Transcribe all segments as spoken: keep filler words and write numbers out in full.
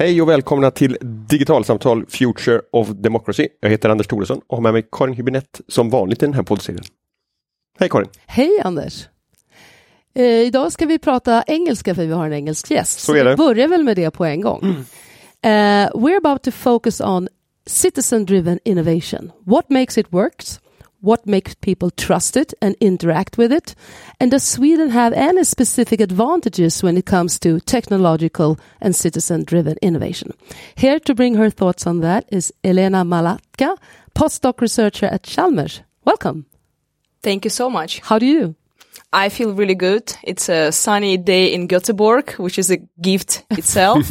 Hej och välkomna till Digitalsamtal Future of Democracy. Jag heter Anders Thoresson och har med mig Karin Hübinette som vanligt i den här poddserien. Hej Karin. Hej Anders. Eh, idag ska vi prata engelska för vi har en engelsk gäst. Så är det. Vi börjar väl med det på en gång. Mm. Uh, we're about to focus on citizen-driven innovation. What makes it work? What makes people trust it and interact with it? And does Sweden have any specific advantages when it comes to technological and citizen-driven innovation? Here to bring her thoughts on that is Elena Malatka, postdoc researcher at Chalmers. Welcome. Thank you so much. How do you do? I feel really good. It's a sunny day in Göteborg, which is a gift itself.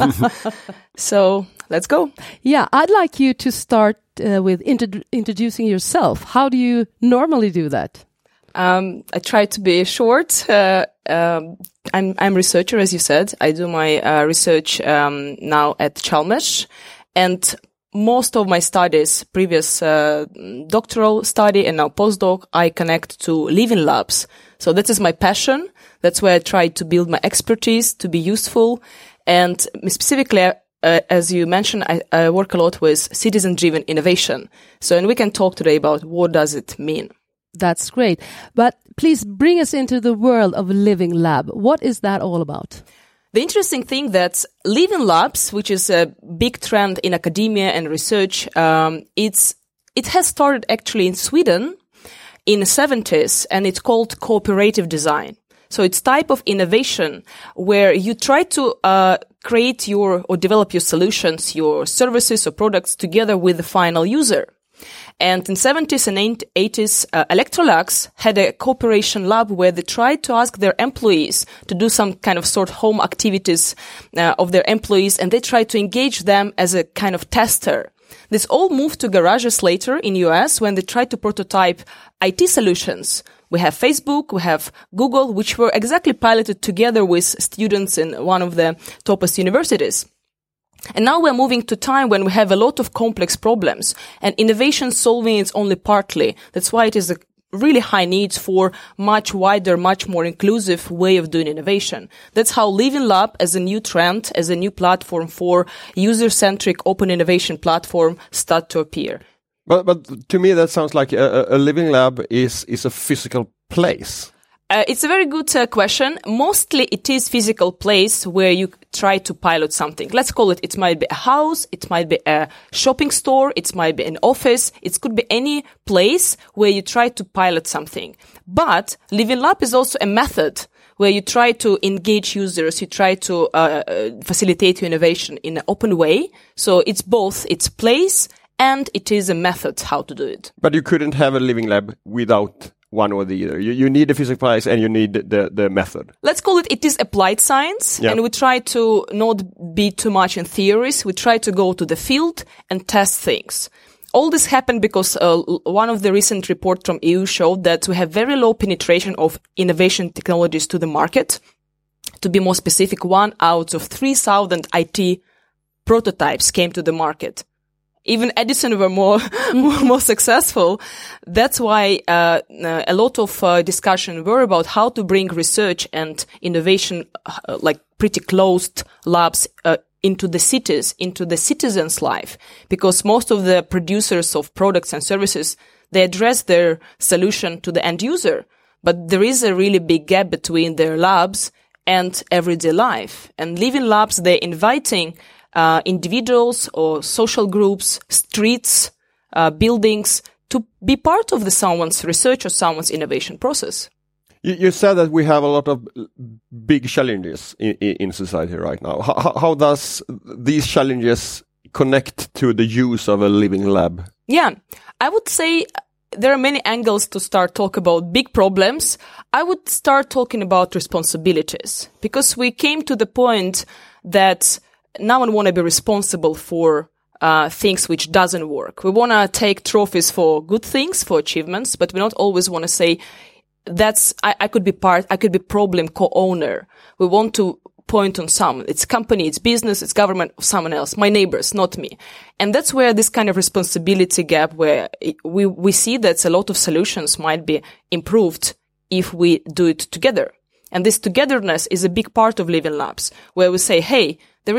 So let's go. Yeah, I'd like you to start uh, with intro- introducing yourself. How do you normally do that? Um, I try to be short. Uh, um, I'm I'm a researcher, as you said. I do my uh, research um, now at Chalmers, and most of my studies, previous uh, doctoral study and now postdoc, I connect to living labs. So that is my passion. That's where I try to build my expertise to be useful. And specifically, uh, as you mentioned, I, I work a lot with citizen-driven innovation. So, and we can talk today about what does it mean. That's great. But please bring us into the world of living lab. What is that all about? The interesting thing that living labs, which is a big trend in academia and research, um, it's it has started actually in Sweden in the seventies, and it's called cooperative design. So it's type of innovation where you try to uh, create your or develop your solutions, your services or products together with the final user. And in seventies and eighties, uh, Electrolux had a cooperation lab where they tried to ask their employees to do some kind of sort of home activities uh, of their employees, and they tried to engage them as a kind of tester. This all moved to garages later in U S when they tried to prototype I T solutions. We have Facebook, we have Google, which were exactly piloted together with students in one of the topest universities. And now we're moving to time when we have a lot of complex problems, and innovation solving is only partly. That's why it is a really high need for much wider, much more inclusive way of doing innovation. That's how Living Lab as a new trend, as a new platform for user-centric open innovation platform start to appear. But, but to me that sounds like a, a living lab is, is a physical place. Uh, it's a very good uh, question. Mostly it is physical place where you try to pilot something. Let's call it, it might be a house, it might be a shopping store, it might be an office, it could be any place where you try to pilot something. But Living Lab is also a method where you try to engage users, you try to uh, uh, facilitate your innovation in an open way. So it's both, it's place and it is a method how to do it. But you couldn't have a living lab without one or the other. You, you need the physical place and you need the, the method. Let's call it, it is applied science. Yeah. And we try to not be too much in theories. We try to go to the field and test things. All this happened because uh, one of the recent reports from E U showed that we have very low penetration of innovation technologies to the market. To be more specific, one out of three thousand I T prototypes came to the market. Even Edison were more, more, more successful. That's why uh, uh, a lot of uh, discussion were about how to bring research and innovation, uh, like pretty closed labs, uh, into the cities, into the citizens' life. Because most of the producers of products and services, they address their solution to the end user. But there is a really big gap between their labs and everyday life. And living labs, they're inviting Uh, individuals or social groups, streets, uh, buildings to be part of the someone's research or someone's innovation process. You, you said that we have a lot of big challenges in, in society right now. How, how does these challenges connect to the use of a living lab? Yeah, I would say there are many angles to start talk about big problems. I would start talking about responsibilities because we came to the point that now we want to be responsible for uh things which doesn't work. We want to take trophies for good things, for achievements, but we not always want to say that's I, I could be part, I could be problem co-owner. We want to point on someone. It's company, it's business, it's government, someone else, my neighbors, not me. And that's where this kind of responsibility gap, where it, we we see that a lot of solutions might be improved if we do it together. And this togetherness is a big part of Living Labs, where we say, hey, there is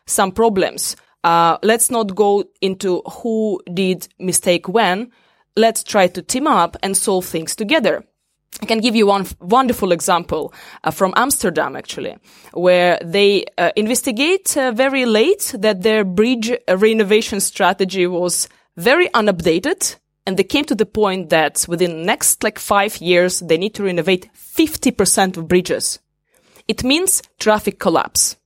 some problems. Uh, let's not go into who did mistake when. Let's try to team up and solve things together. I can give you one f- wonderful example uh, from Amsterdam, actually, where they uh, investigate uh, very late that their bridge uh, renovation strategy was very unupdated. And they came to the point that within the next like five years, they need to renovate fifty percent of bridges. It means traffic collapse.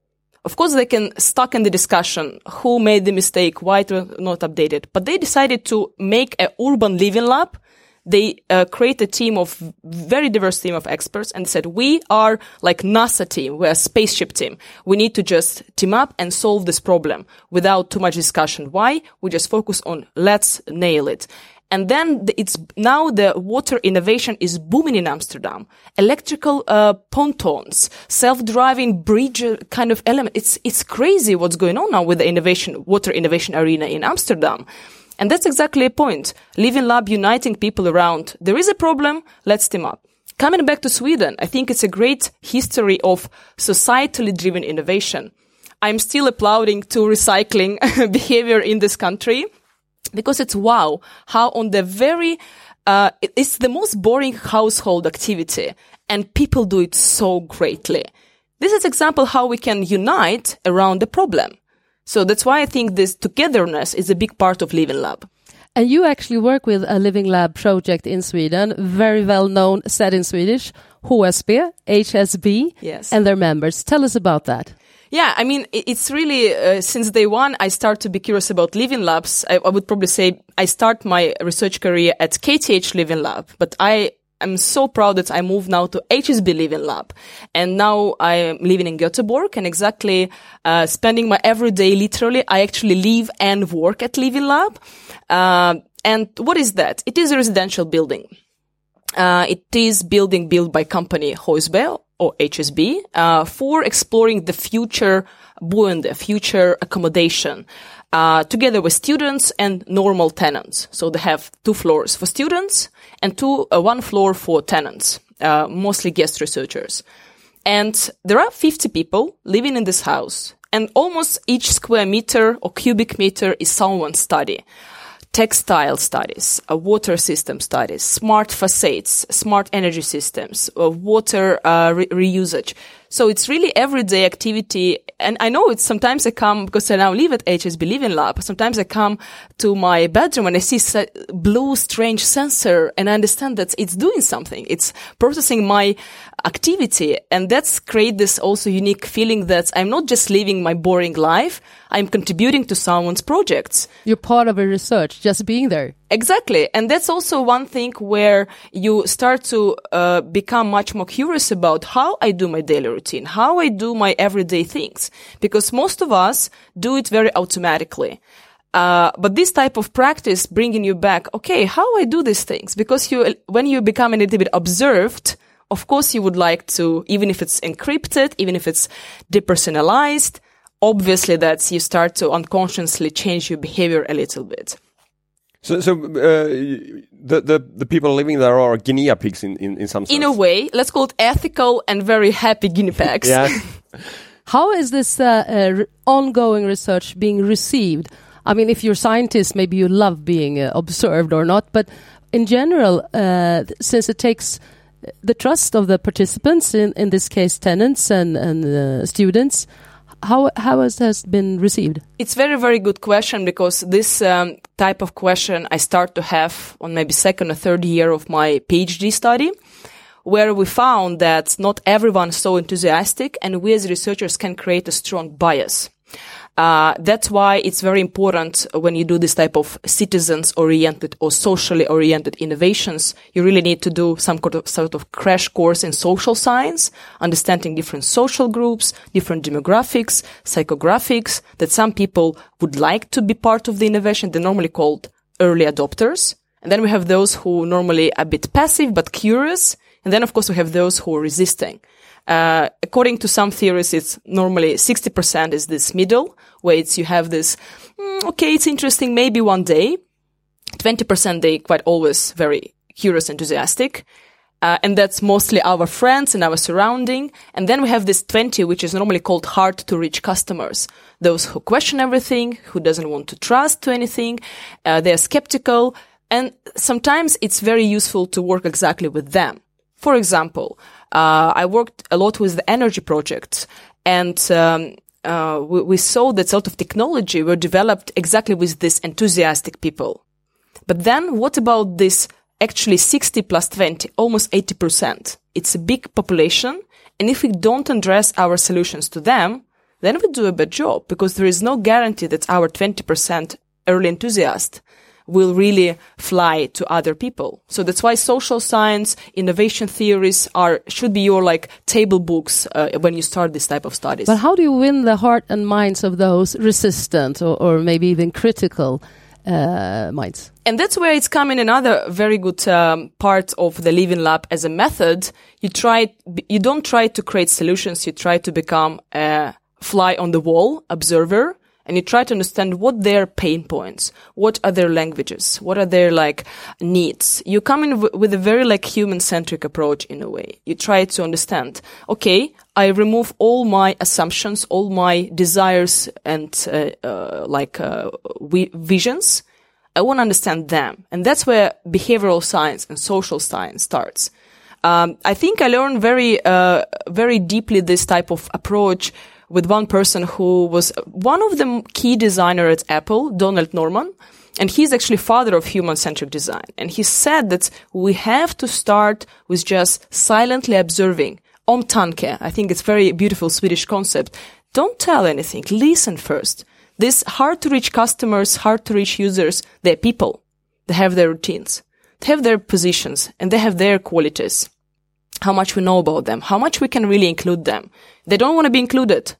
Of course, they can stuck in the discussion who made the mistake, why it was not updated. But they decided to make an urban living lab. They uh, create a team of very diverse team of experts and said, we are like NASA team. We're a spaceship team. We need to just team up and solve this problem without too much discussion. Why? We just focus on let's nail it. And then it's now the water innovation is booming in Amsterdam. Electrical uh, pontoons, self-driving bridge kind of element. It's it's crazy what's going on now with the innovation water innovation arena in Amsterdam. And that's exactly a point. Living Lab uniting people around. There is a problem. Let's team up. Coming back to Sweden, I think it's a great history of societally driven innovation. I'm still applauding to recycling behavior in this country. Because it's wow, how on the very, uh, it's the most boring household activity and people do it so greatly. This is example how we can unite around the problem. So that's why I think this togetherness is a big part of Living Lab. And you actually work with a Living Lab project in Sweden, very well known, said in Swedish, H S B, H S B, yes, and their members. Tell us about that. Yeah, I mean, it's really, uh, since day one, I start to be curious about Living Labs. I, I would probably say I start my research career at K T H Living Lab, but I am so proud that I moved now to H S B Living Lab. And now I am living in Göteborg and exactly, uh, spending my everyday, literally, I actually live and work at Living Lab. Uh, and what is that? It is a residential building. Uh, it is building built by company H S B or H S B, uh, for exploring the future boende, future accommodation, uh, together with students and normal tenants. So they have two floors for students and two, uh, one floor for tenants, uh, mostly guest researchers. And there are fifty people living in this house and almost each square meter or cubic meter is someone's study. Textile studies, uh, water system studies, smart facades, smart energy systems, uh, water uh, re- reusage. So it's really everyday activity. And I know it's sometimes I come, because I now live at H S B Living Lab, sometimes I come to my bedroom and I see a blue strange sensor and I understand that it's doing something. It's processing my activity. And that's create this also unique feeling that I'm not just living my boring life, I'm contributing to someone's projects. You're part of a research, just being there. Exactly. And that's also one thing where you start to uh, become much more curious about how I do my daily routine, how I do my everyday things. Because most of us do it very automatically. Uh, but this type of practice bringing you back, okay, how I do these things? Because you, when you become a little bit observed, of course you would like to, even if it's encrypted, even if it's depersonalized, obviously that's you start to unconsciously change your behavior a little bit. So, so uh, the the the people living there are guinea pigs in, in, in some sense. In a way, let's call it ethical and very happy guinea pigs. Yeah. How is this uh, uh, ongoing research being received? I mean, if you're scientists, maybe you love being uh, observed or not, but in general, uh, since it takes the trust of the participants, in, in this case tenants and, and uh, students, How how has this been received? It's very, very good question because this um, type of question I start to have on maybe second or third year of my PhD study, where we found that not everyone is so enthusiastic and we as researchers can create a strong bias. Uh, that's why it's very important when you do this type of citizens-oriented or socially-oriented innovations, you really need to do some sort of crash course in social science, understanding different social groups, different demographics, psychographics, that some people would like to be part of the innovation. They're normally called early adopters. And then we have those who normally are a bit passive but curious. And then, of course, we have those who are resisting. Uh, according to some theories, it's normally sixty percent is this middle, where it's, you have this, mm, okay, it's interesting, maybe one day. twenty percent, they quite always very curious, enthusiastic. Uh, and that's mostly our friends and our surrounding. And then we have this twenty, which is normally called hard to reach customers. Those who question everything, who doesn't want to trust to anything, uh, they're skeptical. And sometimes it's very useful to work exactly with them. For example, uh, I worked a lot with the energy projects, and um, uh, we, we saw that a lot of technology were developed exactly with these enthusiastic people. But then what about this actually sixty plus twenty, almost eighty percent? It's a big population, and if we don't address our solutions to them, then we do a bad job, because there is no guarantee that our twenty percent early enthusiast will really fly to other people. So that's why social science, innovation theories are should be your like table books uh, when you start this type of studies. But how do you win the heart and minds of those resistant or, or maybe even critical uh, minds? And that's where it's coming another very good um, part of the Living Lab as a method. You try, you don't try to create solutions. You try to become a fly on the wall observer. And you try to understand what their pain points, what are their languages, what are their like needs. You come in w- with a very like human-centric approach in a way. You try to understand, okay, I remove all my assumptions, all my desires and uh, uh, like uh, we- visions. I want to understand them. And that's where behavioral science and social science starts. Um, I think I learned very, uh, very deeply this type of approach with one person who was one of the key designer at Apple, Donald Norman, and he's actually father of human-centric design. And he said that we have to start with just silently observing. Omtanke, I think it's a very beautiful Swedish concept. Don't tell anything. Listen first. These hard-to-reach customers, hard-to-reach users, they're people. They have their routines. They have their positions, and they have their qualities. How much we know about them, how much we can really include them. They don't want to be included.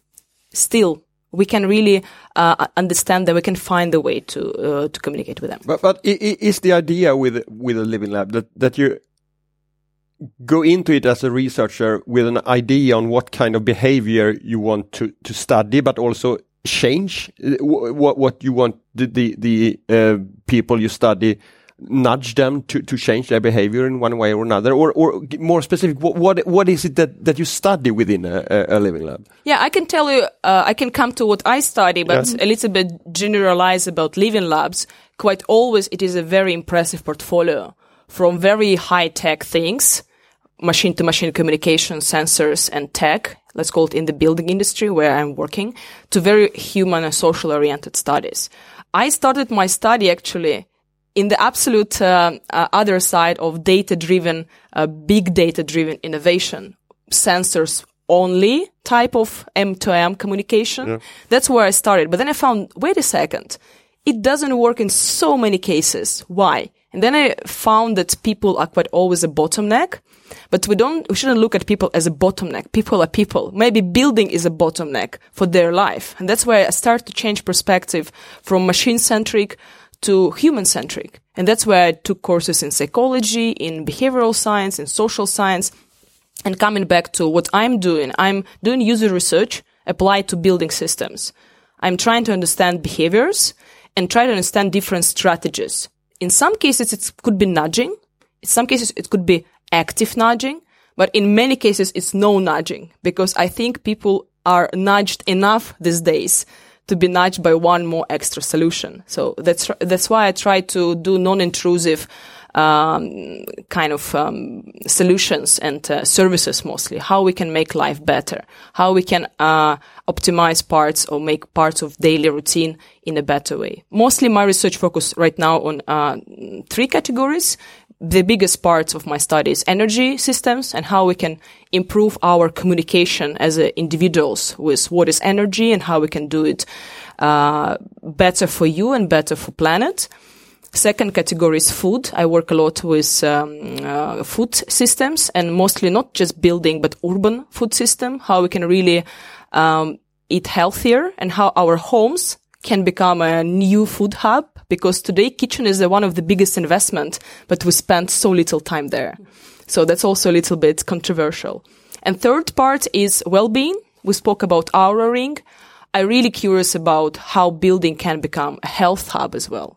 Still, we can really uh, understand that we can find a way to uh, to communicate with them. But but is the idea with with a Living Lab that that you go into it as a researcher with an idea on what kind of behavior you want to to study, but also change what what you want the the, the uh, people you study, nudge them to, to change their behavior in one way or another, or, or more specific, what, what, what is it that, that you study within a, a Living Lab? Yeah, I can tell you, uh, I can come to what I study, but yeah. a little bit generalize about Living Labs. Quite always, it is a very impressive portfolio from very high-tech things, machine-to-machine communication, sensors and tech, let's call it in the building industry where I'm working, to very human and social-oriented studies. I started my study actually in the absolute uh, uh, other side of data-driven, uh, big data-driven innovation, sensors only type of M to M communication. Yeah. That's where I started. But then I found, wait a second, it doesn't work in so many cases. Why? And then I found that people are quite always a bottleneck, but we don't, we shouldn't look at people as a bottleneck. People are people. Maybe building is a bottleneck for their life. And that's where I started to change perspective from machine-centric to human-centric. And that's where I took courses in psychology, in behavioral science, in social science. And coming back to what I'm doing, I'm doing user research applied to building systems. I'm trying to understand behaviors and try to understand different strategies. In some cases, it could be nudging. In some cases, it could be active nudging. But in many cases, it's no nudging, because I think people are nudged enough these days to be nudged by one more extra solution. So that's that's why I try to do non-intrusive um, kind of um, solutions and uh, services mostly. How we can make life better, how we can uh, optimize parts or make parts of daily routine in a better way. Mostly my research focus right now on uh, three categories. The biggest parts of my study is energy systems and how we can improve our communication as uh, individuals with what is energy and how we can do it uh, better for you and better for planet. Second category is food. I work a lot with um, uh, food systems, and mostly not just building but urban food system, how we can really um, eat healthier and how our homes can become a new food hub, because today kitchen is uh, one of the biggest investment, but we spend so little time there. So that's also a little bit controversial. And third part is well-being. We spoke about Aura Ring. I'm really curious about how building can become a health hub as well.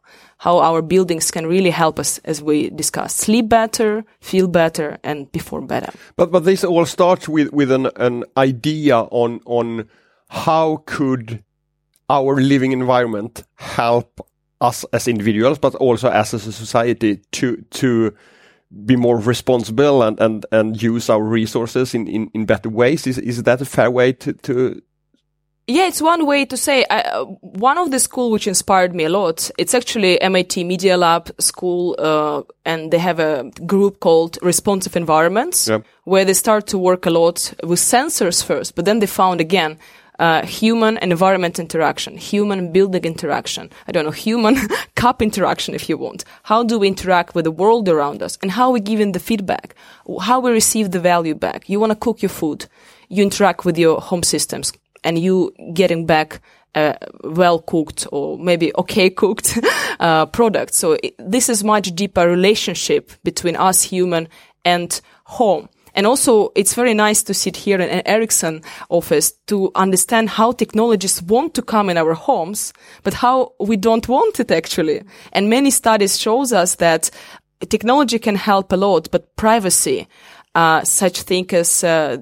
how our buildings can really help us, as we discussed, sleep better, feel better, and perform better. But but this all starts with with an an idea on on how could our living environment help us as individuals, but also as a society to to be more responsible and and and use our resources in in, in better ways. Is is that a fair way to to Yeah, it's one way to say. Uh, one of the school which inspired me a lot, it's actually M I T Media Lab school, uh, and they have a group called Responsive Environments, yep. where they start to work a lot with sensors first, but then they found again uh, human and environment interaction, human building interaction, I don't know, human cup interaction if you want. How do we interact with the world around us, and how we give in the feedback, how we receive the value back. You want to cook your food, you interact with your home systems, and you getting back uh, well-cooked or maybe okay-cooked uh, product. So it, this is much deeper relationship between us human and home. And also, it's very nice to sit here in an Ericsson office to understand how technologies want to come in our homes, but how we don't want it actually. And many studies shows us that technology can help a lot, but privacy, Uh, such thing as uh,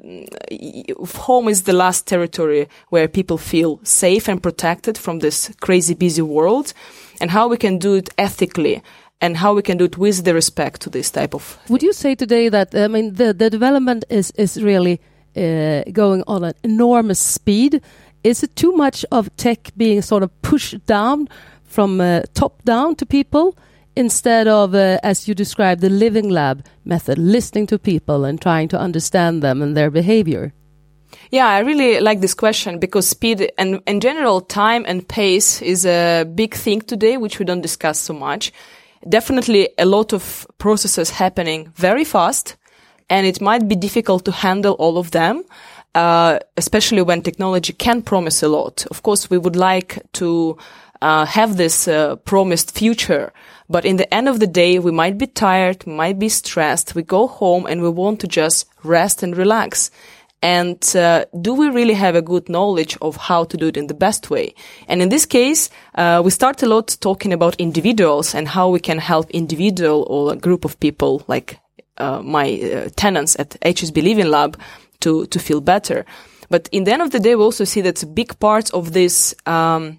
home is the last territory where people feel safe and protected from this crazy busy world, and how we can do it ethically and how we can do it with the respect to this type of thing. Would you say today that, I mean, the, the development is, is really uh, going on an enormous speed? Is it too much of tech being sort of pushed down from uh, top down to people, instead of, uh, as you described, the living lab method, listening to people and trying to understand them and their behavior? Yeah, I really like this question, because speed and in general time and pace is a big thing today, which we don't discuss so much. Definitely a lot of processes happening very fast, and it might be difficult to handle all of them, uh, especially when technology can promise a lot. Of course, we would like to uh, have this uh, promised future, but in the end of the day, we might be tired, might be stressed. We go home and we want to just rest and relax. And uh, do we really have a good knowledge of how to do it in the best way? And in this case, uh, we start a lot talking about individuals and how we can help individual or a group of people, like uh, my uh, tenants at H S B Living Lab, to to feel better. But in the end of the day, we also see that a big part of this um,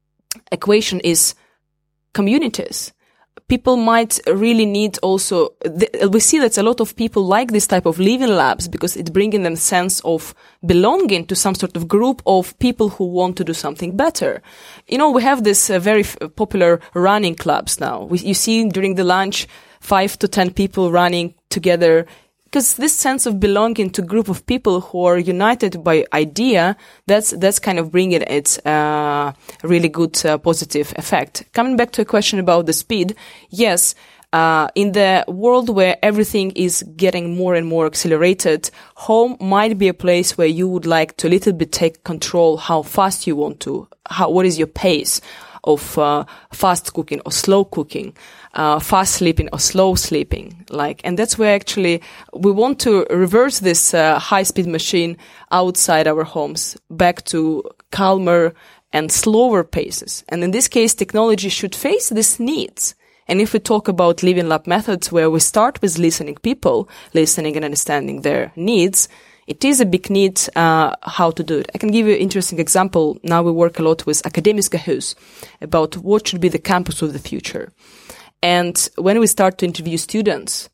equation is communities. People might really need also, th- we see that a lot of people like this type of living labs because it brings in them sense of belonging to some sort of group of people who want to do something better. You know, we have this uh, very f- popular running clubs now. We, you see during the lunch, five to ten people running together, because this sense of belonging to a group of people who are united by idea, that's that's kind of bringing it uh, really good uh, positive effect. Coming back to a question about the speed, yes, uh, in the world where everything is getting more and more accelerated, home might be a place where you would like to a little bit take control how fast you want to, how what is your pace of uh, fast cooking or slow cooking, uh, fast sleeping or slow sleeping, like, and that's where actually we want to reverse this uh, high-speed machine outside our homes back to calmer and slower paces. And in this case, technology should face these needs. And if we talk about living lab methods where we start with listening people, listening and understanding their needs, it is a big need uh, how to do it. I can give you an interesting example. Now we work a lot with Akademiska Hus about what should be the campus of the future. And when we start to interview students,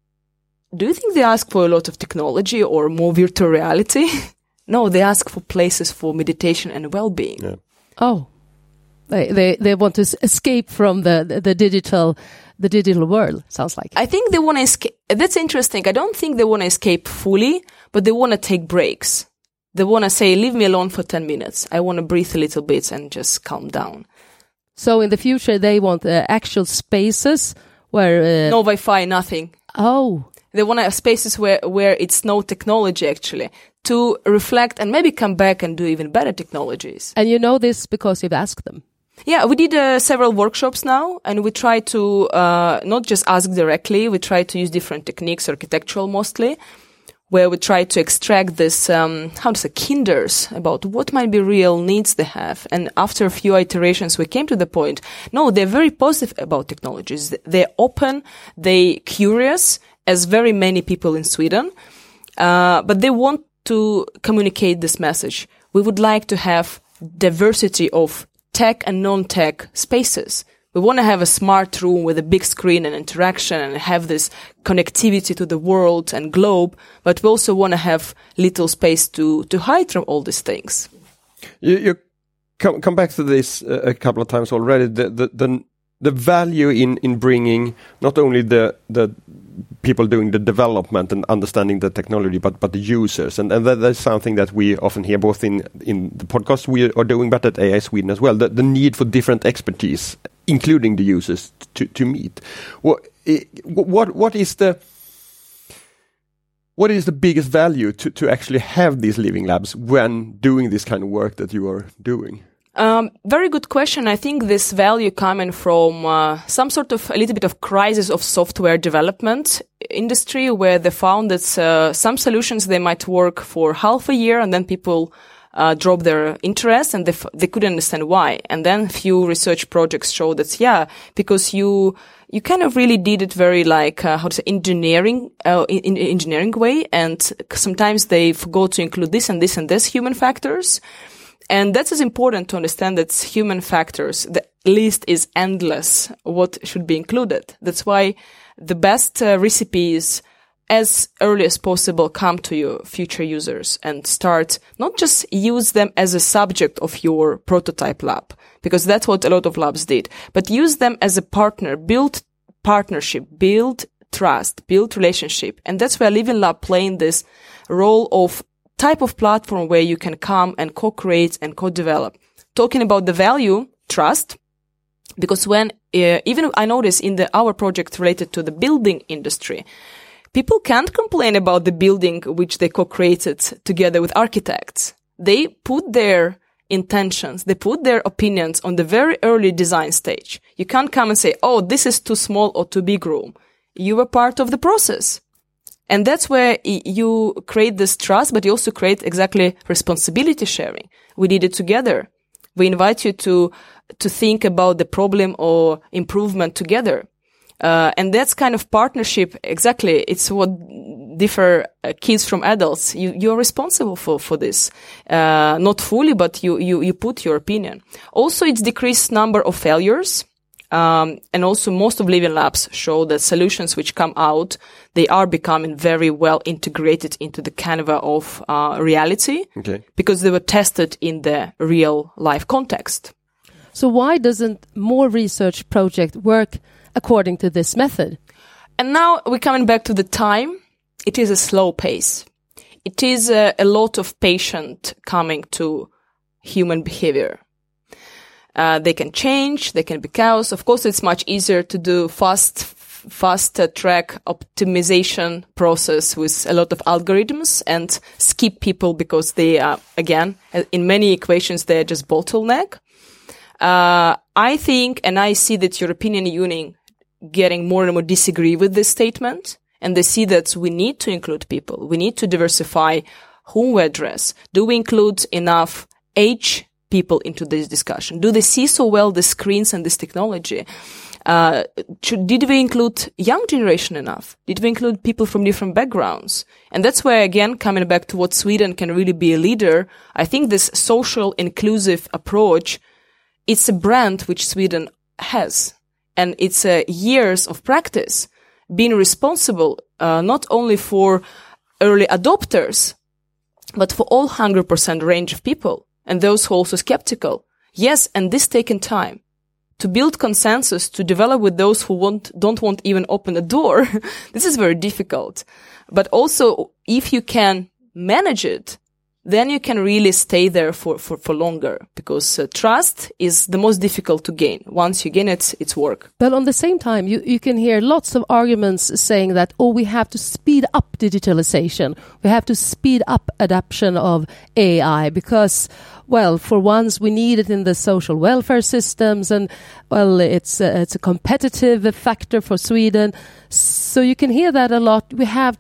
do you think they ask for a lot of technology or more virtual reality? No, they ask for places for meditation and well-being. Yeah. Oh, they, they they want to escape from the, the, the digital the digital world, sounds like. I think they want to escape. That's interesting. I don't think they want to escape fully, but they want to take breaks. They want to say, leave me alone for ten minutes. I want to breathe a little bit and just calm down. So in the future, they want uh, actual spaces where... Uh, no Wi-Fi, nothing. Oh. They want to have spaces where, where it's no technology, actually, to reflect and maybe come back and do even better technologies. And you know this because you've asked them. Yeah, we did uh, several workshops now, and we try to uh, not just ask directly, we try to use different techniques, architectural mostly. where we try to extract this, um, how to say, kinders about what might be real needs they have. And after a few iterations, we came to the point, no, they're very positive about technologies. They're open, they're curious, as very many people in Sweden, uh, but they want to communicate this message. We would like to have diversity of tech and non-tech spaces. We want to have a smart room with a big screen and interaction and have this connectivity to the world and globe, but we also want to have little space to, to hide from all these things. You, you come, come back to this uh, a couple of times already, the, the, the, the value in, in bringing not only the, the people doing the development and understanding the technology, but, but the users. And, and that, that's something that we often hear both in, in the podcast we are doing, but at A I Sweden as well, the, the need for different expertise, including the users, to, to meet. What, what, what is the, what is the biggest value to, to actually have these living labs when doing this kind of work that you are doing? Um, very good question. I think this value coming from uh, some sort of a little bit of crisis of software development industry, where they found that uh, some solutions, they might work for half a year and then people Uh, drop their interest and they, f- they couldn't understand why. And then few research projects show that, yeah, because you, you kind of really did it very like, uh, how to say, engineering, uh, in, in engineering way. And sometimes they forgot to include this and this and this human factors. And that is important to understand that human factors, the list is endless, what should be included. That's why the best uh, recipe is as early as possible come to your future users and start not just use them as a subject of your prototype lab, because that's what a lot of labs did, but use them as a partner, build partnership, build trust, build relationship. And that's where Living Lab playing this role of type of platform where you can come and co-create and co-develop. Talking about the value, trust, because when, uh, even I notice in the, our project related to the building industry, people can't complain about the building which they co-created together with architects. They put their intentions, they put their opinions on the very early design stage. You can't come and say, oh, this is too small or too big room. You were part of the process. And that's where you create this trust, but you also create exactly responsibility sharing. We did it together. We invite you to, to think about the problem or improvement together. Uh, and that's kind of partnership. Exactly. It's what differ uh, kids from adults. You, you're responsible for, for this. Uh, not fully, but you, you, you put your opinion. Also, it's decreased number of failures. Um, and also most of Living Labs show that solutions which come out, they are becoming very well integrated into the canvas of, uh, reality. Okay. Because they were tested in the real life context. So why doesn't more research project work according to this method? And now we're coming back to the time. It is a slow pace. It is a, a lot of patient coming to human behavior. Uh, they can change, they can be chaos. Of course, it's much easier to do fast, fast uh, track optimization process with a lot of algorithms and skip people because they are, again, in many equations, they're just bottleneck. Uh, I think, and I see that European Union getting more and more disagree with this statement, and they see that we need to include people. We need to diversify whom we address. Do we include enough age people into this discussion? Do they see so well the screens and this technology? Uh, should, did we include young generation enough? Did we include people from different backgrounds? And that's where, again, coming back to what Sweden can really be a leader, I think this social inclusive approach, it's a brand which Sweden has. And it's uh, years of practice being responsible uh, not only for early adopters, but for all one hundred percent range of people and those who are also skeptical. Yes, and this taken time to build consensus, to develop with those who want, don't want even open a door. This is very difficult. But also, if you can manage it, then you can really stay there for, for, for longer, because uh, trust is the most difficult to gain. Once you gain it, it's work. But on the same time, you, you can hear lots of arguments saying that, oh, we have to speed up digitalization. We have to speed up adoption of A I because, well, for once we need it in the social welfare systems and, well, it's a, it's a competitive factor for Sweden. So you can hear that a lot. We have to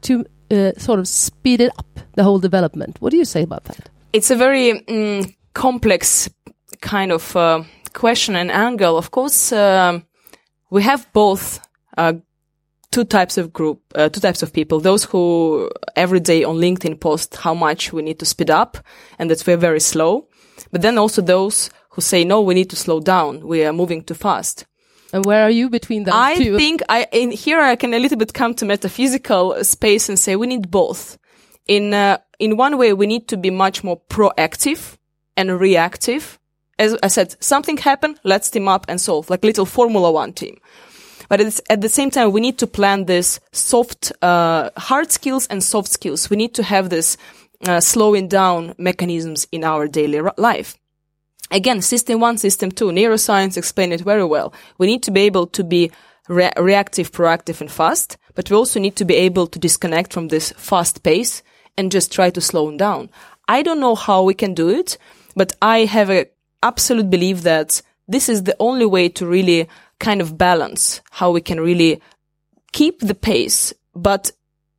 uh, sort of speeded up the whole development. What do you say about that? It's a very um, complex kind of uh, question and angle. Of course, um, we have both uh, two types of group, uh, two types of people. Those who every day on LinkedIn post how much we need to speed up, and that we're very slow. But then also those who say, no, we need to slow down. We are moving too fast. And where are you between those I two? I think I, in here I can a little bit come to metaphysical space and say we need both. In, uh, in one way, we need to be much more proactive and reactive. As I said, something happened, let's team up and solve, like little Formula One team. But it's, at the same time, we need to plan this soft, uh, hard skills and soft skills. We need to have this, uh, slowing down mechanisms in our daily life. Again, system one, system two, neuroscience explained it very well. We need to be able to be re- reactive, proactive, and fast, but we also need to be able to disconnect from this fast pace and just try to slow down. I don't know how we can do it, but I have a absolute belief that this is the only way to really kind of balance how we can really keep the pace, but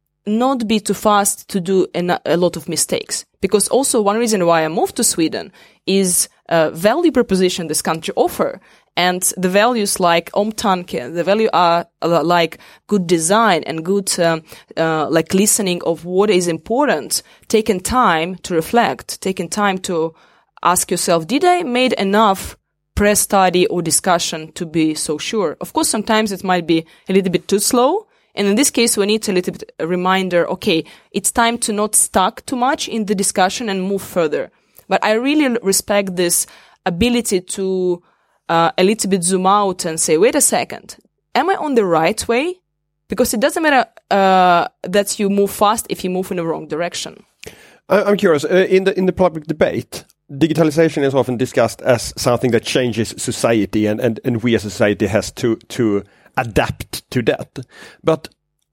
not be too fast to do a, a lot of mistakes. Because also one reason why I moved to Sweden is uh, value proposition this country offer. And the values like omtanke, the value are uh, like good design and good, um, uh, like listening of what is important, taking time to reflect, taking time to ask yourself, did I made enough press study or discussion to be so sure? Of course, sometimes it might be a little bit too slow. And in this case, we need a little bit a reminder, okay, it's time to not stuck too much in the discussion and move further. But I really respect this ability to uh, a little bit zoom out and say, wait a second, am I on the right way? Because it doesn't matter uh, that you move fast if you move in the wrong direction. I'm curious, uh, in the in the public debate, digitalization is often discussed as something that changes society, and, and, and we as a society has to to adapt to that. But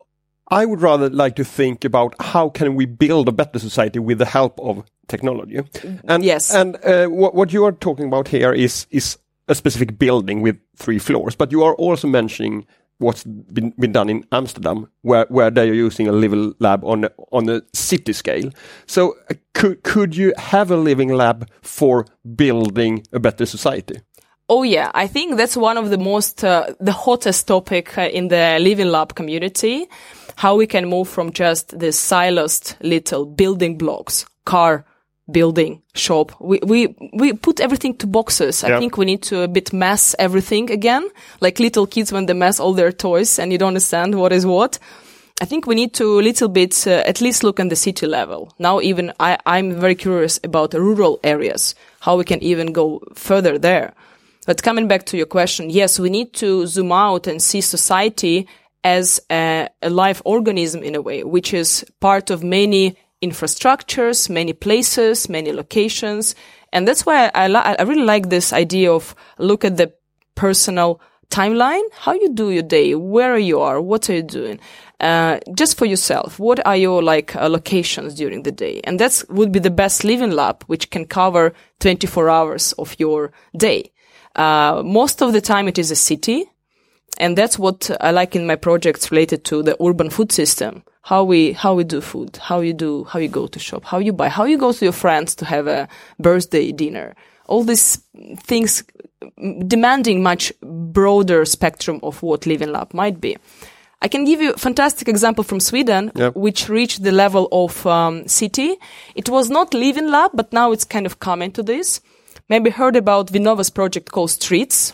I would rather like to think about how can we build a better society with the help of technology. And yes. and uh, what what you are talking about here is is a specific building with three floors, but you are also mentioning what's been been done in Amsterdam, where where they are using a living lab on on a city scale. So uh, could could you have a living lab for building a better society? Oh yeah, I think that's one of the most, uh, the hottest topic uh, in the Living Lab community. How we can move from just the siloed little building blocks, car, building, shop. We, we, we put everything to boxes. I yeah. think we need to a bit mass everything again. Like little kids when they mass all their toys and you don't understand what is what. I think we need to a little bit, uh, at least look on the city level. Now even I, I'm very curious about the rural areas, how we can even go further there. But coming back to your question, yes, we need to zoom out and see society as a, a live organism in a way, which is part of many infrastructures, many places, many locations. And that's why I, li- I really like this idea of look at the personal timeline, how you do your day, where you are, what are you doing, uh, just for yourself. What are your like uh, locations during the day? And that's would be the best living lab, which can cover twenty-four hours of your day. Uh, most of the time it is a city. And that's what I like in my projects related to the urban food system. How we, how we do food, how you do, how you go to shop, how you buy, how you go to your friends to have a birthday dinner. All these things demanding much broader spectrum of what Living Lab might be. I can give you a fantastic example from Sweden, yep. which reached the level of um, city. It was not Living Lab, but now it's kind of coming to this. Maybe heard about Vinnova's project called Streets.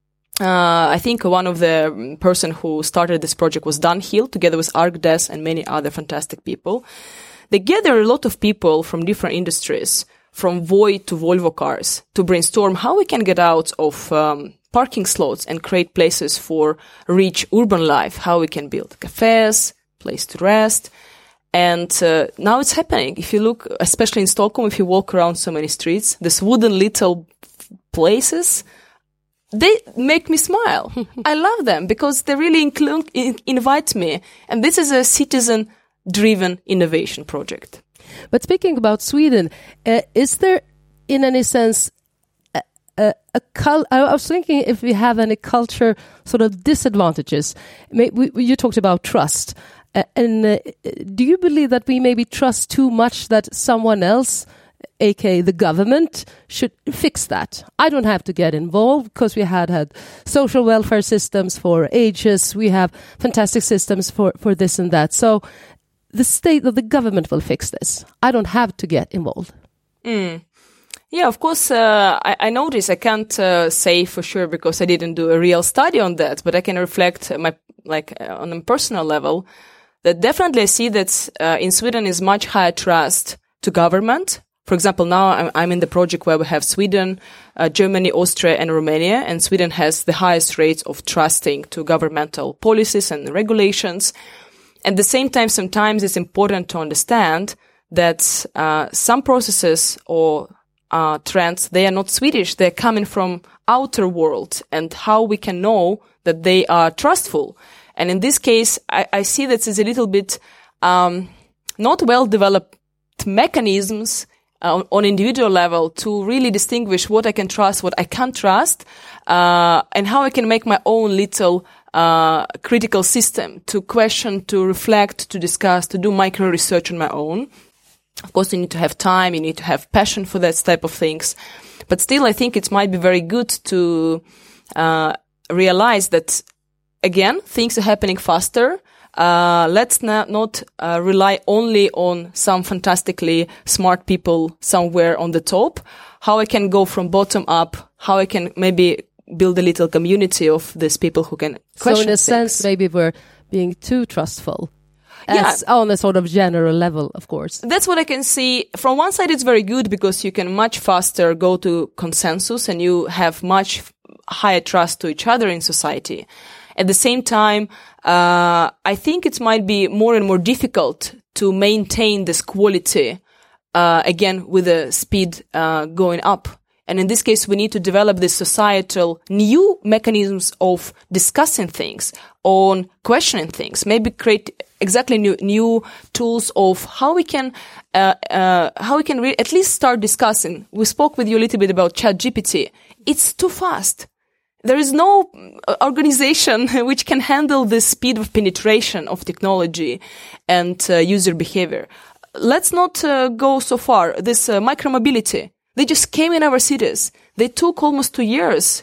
Uh, I think one of the person who started this project was Dan Hill, together with ArcDes and many other fantastic people. They gather a lot of people from different industries, from Voi to Volvo cars, to brainstorm how we can get out of um, parking slots and create places for rich urban life, how we can build cafes, place to rest. And uh, now it's happening. If you look, especially in Stockholm, if you walk around so many streets, these wooden little places, they make me smile. I love them because they really inclu- in- invite me. And this is a citizen-driven innovation project. But speaking about Sweden, uh, is there, in any sense, a, a, a cul- I was thinking if we have any culture sort of disadvantages. Maybe we, you talked about trust. Uh, and uh, do you believe that we maybe trust too much that someone else, aka the government, should fix that? I don't have to get involved because we had had social welfare systems for ages. We have fantastic systems for, for this and that. So the state of the government will fix this. I don't have to get involved. Mm. Yeah, of course, uh, I, I notice I can't uh, say for sure because I didn't do a real study on that, but I can reflect my like uh, on a personal level that definitely I see that uh, in Sweden is much higher trust to government. For example, now I'm, I'm in the project where we have Sweden, uh, Germany, Austria, and Romania, and Sweden has the highest rates of trusting to governmental policies and regulations. At the same time, sometimes it's important to understand that uh, some processes or uh, trends, they are not Swedish, they're coming from outer world, and how we can know that they are trustful. And in this case, I, I see that it's a little bit um, not well-developed mechanisms uh, on individual level to really distinguish what I can trust, what I can't trust, uh, and how I can make my own little uh, critical system to question, to reflect, to discuss, to do micro research on my own. Of course, you need to have time, you need to have passion for that type of things. But still, I think it might be very good to uh, realize that, again, things are happening faster. Uh, let's not, not uh, rely only on some fantastically smart people somewhere on the top. How I can go from bottom up, how I can maybe build a little community of these people who can question So in a things. sense, maybe we're being too trustful. As Yeah. on a sort of general level, of course. That's what I can see. From one side, it's very good because you can much faster go to consensus and you have much higher trust to each other in society. At the same time, uh, I think it might be more and more difficult to maintain this quality, uh, again, with the speed uh, going up. And in this case, we need to develop this societal new mechanisms of discussing things, on questioning things, maybe create exactly new, new tools of how we can, uh, uh, how we can re- at least start discussing. We spoke with you a little bit about ChatGPT. It's too fast. There is no organization which can handle the speed of penetration of technology and uh, user behavior. Let's not uh, go so far. This uh, micromobility. They just came in our cities. They took almost two years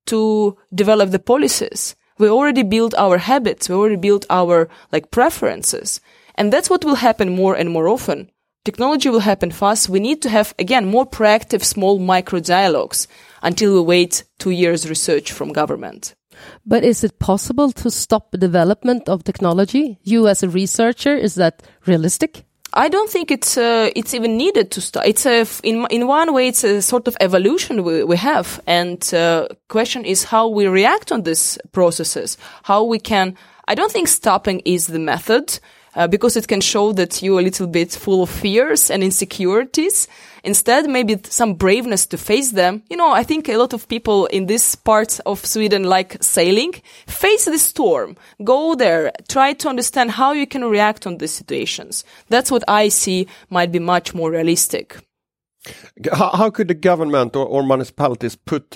to develop the policies. We already built our habits. We already built our, like, preferences. And that's what will happen more and more often. Technology will happen fast. We need to have, again, more proactive, small micro dialogues until we wait two years research from government. But is it possible to stop the development of technology? You as a researcher, is that realistic? I don't think it's uh, it's even needed to start. It's a in in one way it's a sort of evolution we we have, and uh, question is how we react on these processes. How we can. I don't think stopping is the method uh, because it can show that you're a little bit full of fears and insecurities. Instead, maybe some braveness to face them. You know, I think a lot of people in this part of Sweden like sailing. Face the storm. Go there. Try to understand how you can react on these situations. That's what I see might be much more realistic. How, how could the government or, or municipalities put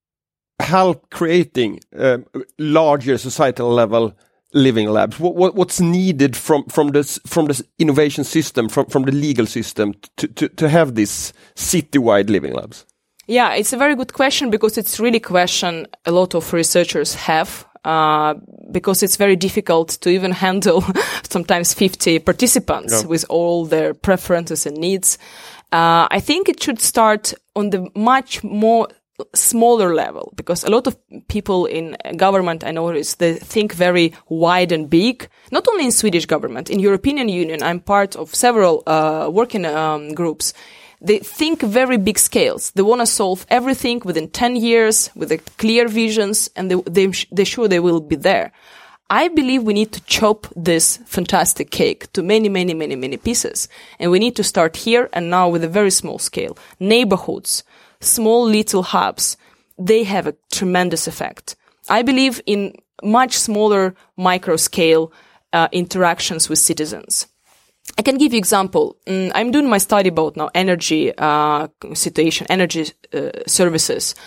help creating uh, larger societal level living labs? What, what what's needed from from this from this innovation system, from from the legal system to to to have these citywide living labs? Yeah, it's a very good question because it's really a question a lot of researchers have. Uh, because it's very difficult to even handle sometimes fifty participants Yeah. with all their preferences and needs. Uh, I think it should start on the much more smaller level, because a lot of people in government, I notice, they think very wide and big. Not only in Swedish government, in European Union, I'm part of several uh, working um, groups. They think very big scales. They want to solve everything within ten years with a clear visions, and they, they, they're sure they will be there. I believe we need to chop this fantastic cake to many, many, many, many pieces. And we need to start here and now with a very small scale. Neighborhoods, small little hubs, they have a tremendous effect. I believe in much smaller micro scale uh, interactions with citizens. I can give you example. Mm, I'm doing my study about now energy uh, situation, energy uh, services.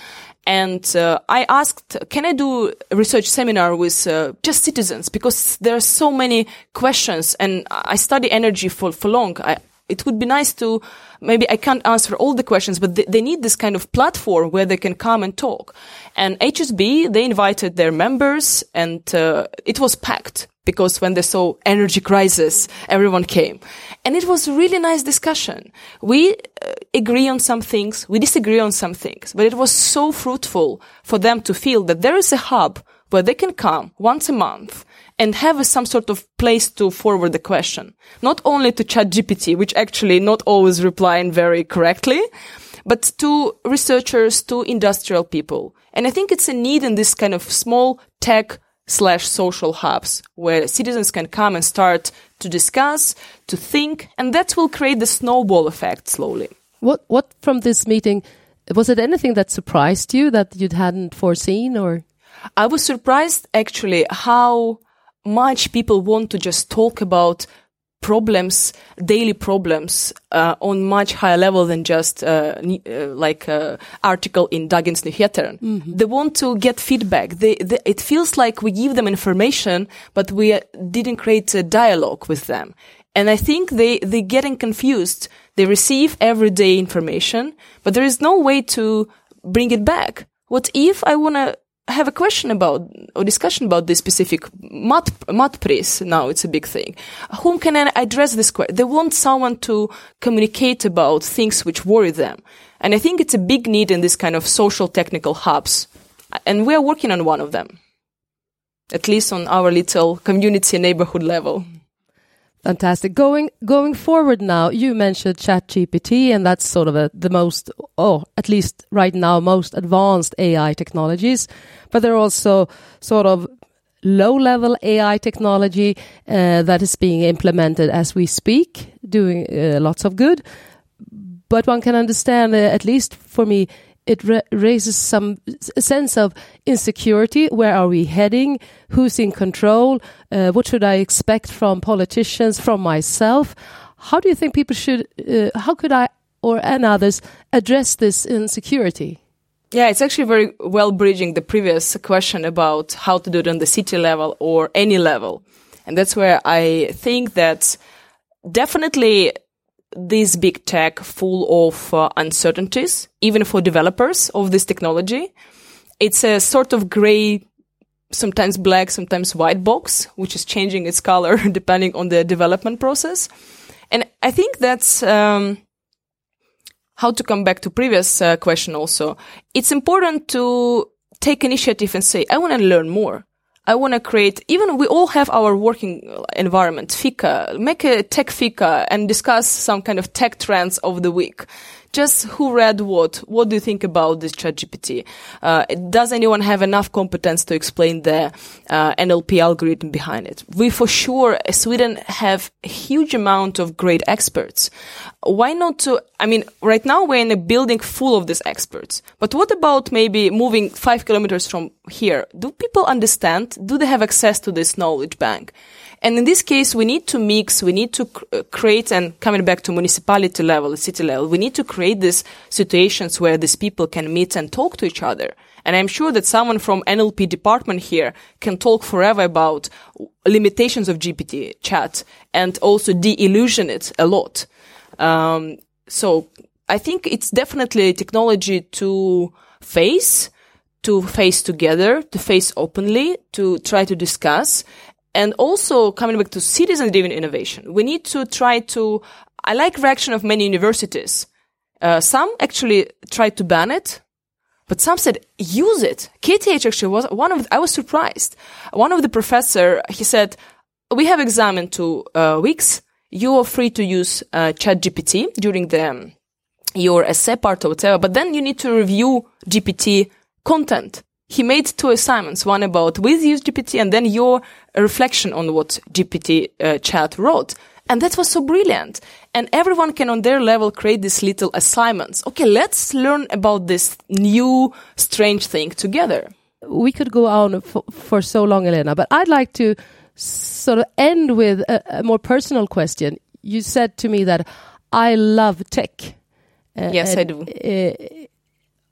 And uh, I asked, can I do a research seminar with uh, just citizens? Because there are so many questions, and I study energy for, for long. I, it would be nice to, maybe I can't answer all the questions, but they, they need this kind of platform where they can come and talk. And H S B, they invited their members, and uh, it was packed. Because when they saw energy crisis, everyone came. And it was a really nice discussion. We uh, agree on some things, we disagree on some things, but it was so fruitful for them to feel that there is a hub where they can come once a month and have a, some sort of place to forward the question. Not only to ChatGPT, which actually not always replying very correctly, but to researchers, to industrial people. And I think it's a need in this kind of small tech slash social hubs where citizens can come and start to discuss, to think, and that will create the snowball effect slowly. What what from this meeting, was it anything that surprised you that you hadn't foreseen? Or I was surprised actually how much people want to just talk about problems, daily problems, uh, on much higher level than just uh, uh, like uh, article in Dagens Nyheter. Mm-hmm. They want to get feedback. They, they, it feels like we give them information, but we uh, didn't create a dialogue with them. And I think they they getting confused. They receive everyday information, but there is no way to bring it back. What if I want to have a question about or discussion about this specific mat matpris? Now it's a big thing. Whom can I address this question? They want someone to communicate about things which worry them. And I think it's a big need in this kind of social technical hubs. And we are working on one of them, at least on our little community neighborhood level. Fantastic. Going going forward now, you mentioned ChatGPT, and that's sort of a, the most, oh, at least right now, most advanced A I technologies. But there are also sort of low-level A I technology uh, that is being implemented as we speak, doing uh, lots of good. But one can understand, uh, at least for me, it ra- raises some a sense of insecurity. Where are we heading? Who's in control? Uh, what should I expect from politicians, from myself? How do you think people should, uh, how could I or and others address this insecurity? Yeah, it's actually very well bridging the previous question about how to do it on the city level or any level. And that's where I think that definitely this big tech full of uh, uncertainties, even for developers of this technology. It's a sort of gray, sometimes black, sometimes white box, which is changing its color depending on the development process. And I think that's um, how to come back to previous uh, question also. It's important to take initiative and say, I want to learn more. I want to create, even we all have our working environment, fika, make a tech fika and discuss some kind of tech trends of the week. Just who read what? What do you think about this ChatGPT? Uh, does anyone have enough competence to explain the uh, N L P algorithm behind it? We for sure, uh, Sweden have a huge amount of great experts. Why not to, I mean, right now we're in a building full of these experts. But what about maybe moving five kilometers from here? Do people understand? Do they have access to this knowledge bank? And in this case, we need to mix, we need to cr- create, and coming back to municipality level, city level, we need to create these situations where these people can meet and talk to each other. And I'm sure that someone from N L P department here can talk forever about limitations of G P T chat and also de-illusion it a lot. Um, so I think it's definitely technology to face, to face together, to face openly, to try to discuss. And also coming back to citizen-driven innovation, we need to try to, I like reaction of many universities. Uh, some actually tried to ban it, but some said, use it. K T H actually was one of, the, I was surprised. One of the professor, he said, we have exam in two uh, weeks. You are free to use uh, ChatGPT during the, um, your essay part or whatever, but then you need to review G P T content. He made two assignments, one about with use G P T and then your reflection on what G P T uh, chat wrote. And that was so brilliant. And everyone can on their level create these little assignments. Okay, let's learn about this new strange thing together. We could go on for, for so long, Elena, but I'd like to sort of end with a, a more personal question. You said to me that I love tech. Uh, yes, and, I do. Uh,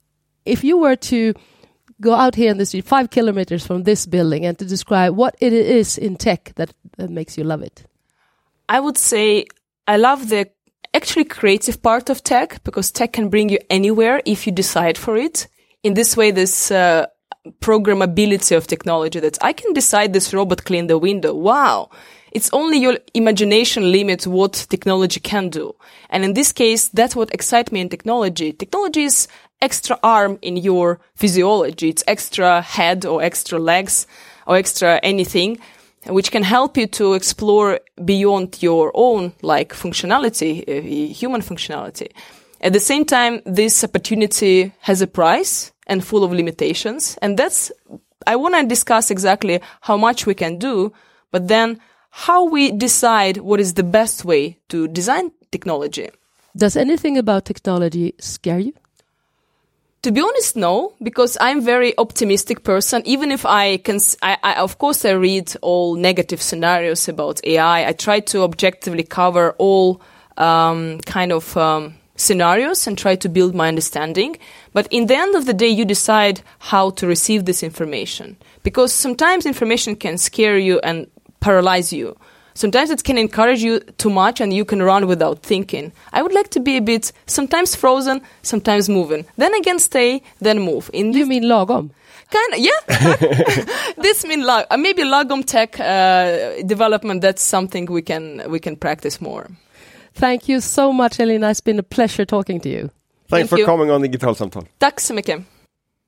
if you were to go out here in the street, five kilometers from this building, and to describe what it is in tech that, that makes you love it? I would say I love the actually creative part of tech, because tech can bring you anywhere if you decide for it. In this way, this uh, programmability of technology, that I can decide this robot clean the window. Wow. It's only your imagination limits what technology can do. And in this case, that's what excites me in technology. Technology is extra arm in your physiology. It's extra head or extra legs or extra anything, which can help you to explore beyond your own, like, functionality, uh, human functionality. At the same time, this opportunity has a price and full of limitations. And that's, I want to discuss exactly how much we can do, but then how we decide what is the best way to design technology. Does anything about technology scare you? To be honest, no, because I'm a very optimistic person. Even if I can, I, I, of course, I read all negative scenarios about A I. I try to objectively cover all um, kind of um, scenarios and try to build my understanding. But in the end of the day, you decide how to receive this information, because sometimes information can scare you and paralyze you. Sometimes it can encourage you too much and you can run without thinking. I would like to be a bit sometimes frozen, sometimes moving. Then again stay, then move. In you mean lagom? Kind of, yeah. This means lag- uh, maybe lagom tech uh, development. That's something we can we can practice more. Thank you so much, Elina. It's been a pleasure talking to you. Thanks Thank for you. coming on Digitalsamtal. Tack så mycket.